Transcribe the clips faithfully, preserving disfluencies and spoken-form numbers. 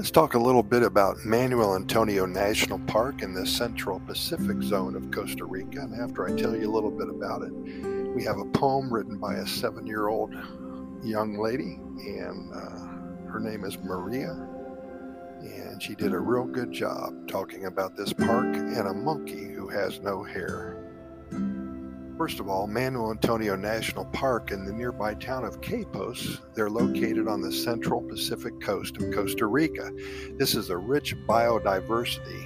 Let's talk a little bit about Manuel Antonio National Park in the Central Pacific Zone of Costa Rica. And after I tell you a little bit about it, we have a poem written by a seven-year-old young lady, and uh, her name is Maria. And she did a real good job talking about this park and a monkey who has no hair. First of all, Manuel Antonio National Park in the nearby town of Quepos. They're located on the central Pacific coast of Costa Rica. This is a rich biodiversity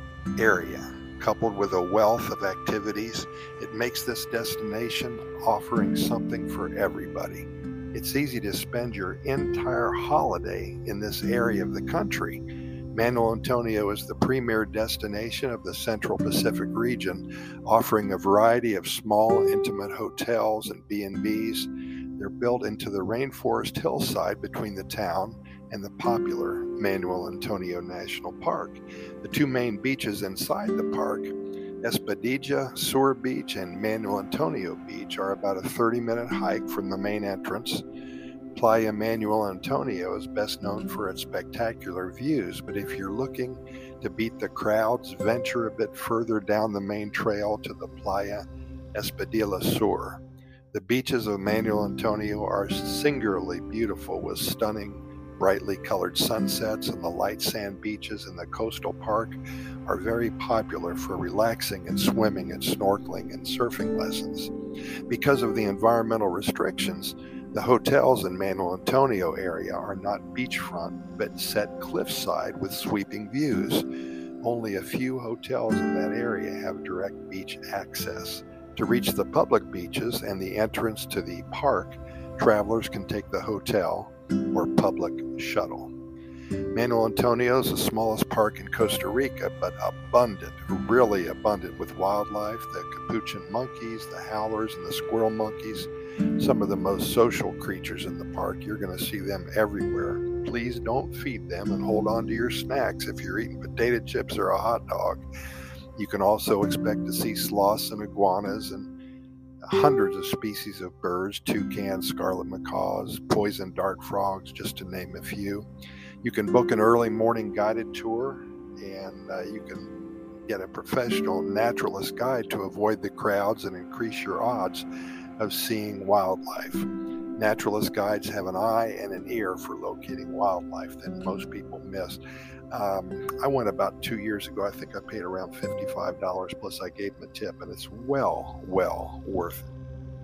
area, coupled with a wealth of activities. It makes this destination offering something for everybody. It's easy to spend your entire holiday in this area of the country. Manuel Antonio is the premier destination of the Central Pacific region, offering a variety of small, intimate hotels and B and Bs. They're built into the rainforest hillside between the town and the popular Manuel Antonio National Park. The two main beaches inside the park, Espadilla Sur Beach and Manuel Antonio Beach, are about a thirty-minute hike from the main entrance. Playa Manuel Antonio is best known for its spectacular views, but if you're looking to beat the crowds, venture a bit further down the main trail to the Playa Espadilla Sur. The beaches of Manuel Antonio are singularly beautiful, with stunning, brightly colored sunsets, and the light sand beaches in the coastal park are very popular for relaxing and swimming and snorkeling and surfing lessons. Because of the environmental restrictions, the hotels in Manuel Antonio area are not beachfront, but set cliffside with sweeping views. Only a few hotels in that area have direct beach access. To reach the public beaches and the entrance to the park, travelers can take the hotel or public shuttle. Manuel Antonio is the smallest park in Costa Rica, but abundant, really abundant with wildlife, the capuchin monkeys, the howlers, and the squirrel monkeys. Some of the most social creatures in the park. You're going to see them everywhere. Please don't feed them and hold on to your snacks if you're eating potato chips or a hot dog. You can also expect to see sloths and iguanas and hundreds of species of birds, toucans, scarlet macaws, poison dart frogs, just to name a few. You can book an early morning guided tour, and uh, you can get a professional naturalist guide to avoid the crowds and increase your odds of seeing wildlife. Naturalist guides have an eye and an ear for locating wildlife that most people miss. Um, I went about two years ago. I think I paid around fifty-five dollars, plus I gave them a tip, and it's well, well worth it.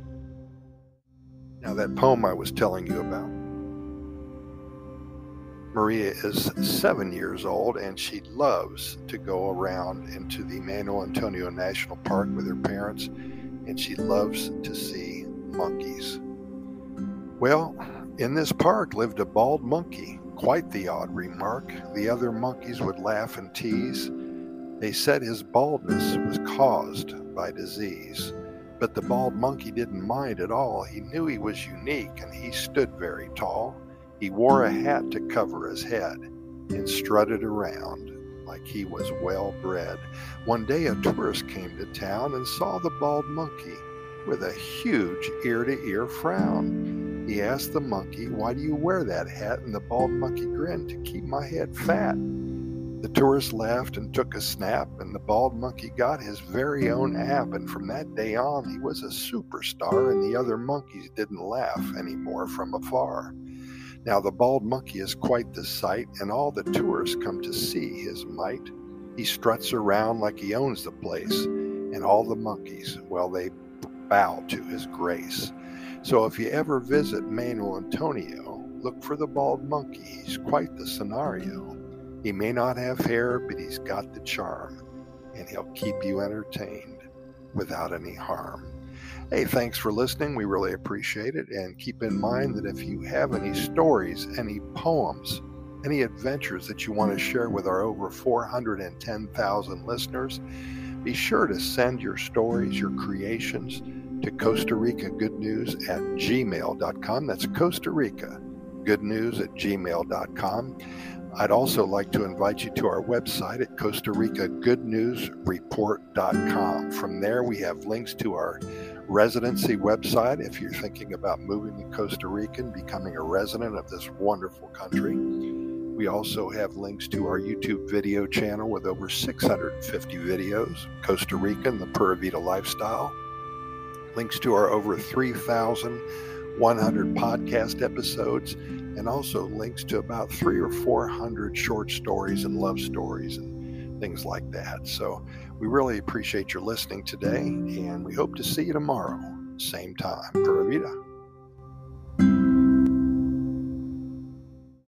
Now, that poem I was telling you about, Maria is seven years old, and she loves to go around into the Manuel Antonio National Park with her parents, and she loves to see monkeys. Well, in this park lived a bald monkey. Quite the odd remark. The other monkeys would laugh and tease. They said his baldness was caused by disease. But the bald monkey didn't mind at all. He knew he was unique, and he stood very tall. He wore a hat to cover his head and strutted around like he was well bred. One day a tourist came to town and saw the bald monkey with a huge ear-to-ear frown. He asked the monkey, "Why do you wear that hat?" And the bald monkey grinned, "To keep my head fat." The tourist laughed and took a snap, and the bald monkey got his very own app, and from that day on he was a superstar, and the other monkeys didn't laugh anymore from afar. Now the bald monkey is quite the sight, and all the tourists come to see his might. He struts around like he owns the place, and all the monkeys, well, they bow to his grace. So if you ever visit Manuel Antonio, look for the bald monkey. He's quite the scenario. He may not have hair, but he's got the charm, and he'll keep you entertained without any harm. Hey, thanks for listening. We really appreciate it. And keep in mind that if you have any stories, any poems, any adventures that you want to share with our over four hundred ten thousand listeners, be sure to send your stories, your creations to Costa Rica Good News at gmail dot com. That's Costa Rica Good News at gmail dot com. I'd also like to invite you to our website at Costa Rica Good News Report dot com. From there, we have links to our residency website if you're thinking about moving to Costa Rica and becoming a resident of this wonderful country. We also have links to our YouTube video channel with over six hundred fifty videos, Costa Rica and the Pura Vida lifestyle. Links to our over three thousand one hundred podcast episodes, and also links to about three or four hundred short stories and love stories and things like that. So we really appreciate your listening today, and we hope to see you tomorrow, same time. Pura Vida.